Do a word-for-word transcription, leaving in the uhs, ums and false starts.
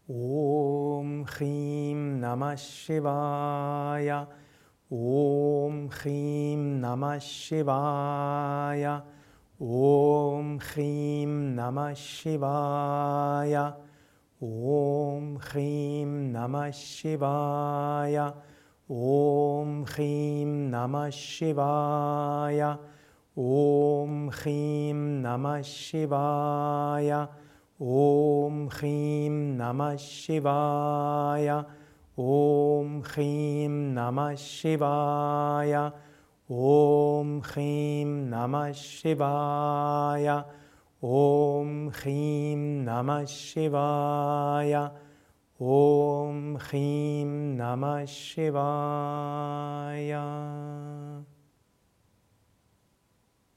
Om Chrim Namah Shivaya. Om Chrim Namah Shivaya. Om Chrim Namah Shivaya. Om Chrim Namah Shivaya. Om Chrim Namah Shivaya. Om Chrim Namah Shivaya. Om Chrim Namah Shivaya. Om Chrim Namah Shivaya. Om Chrim Namah Shivaya. Om Chrim Namah Shivaya. Om Chrim Namah Shivaya.